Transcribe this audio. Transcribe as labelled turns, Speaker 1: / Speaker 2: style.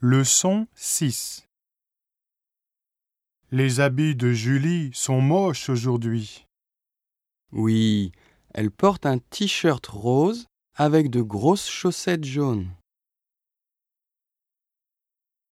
Speaker 1: Leçon 6. Les habits de Julie sont moches aujourd'hui.
Speaker 2: Oui, elle porte un t-shirt rose avec de grosses chaussettes jaunes.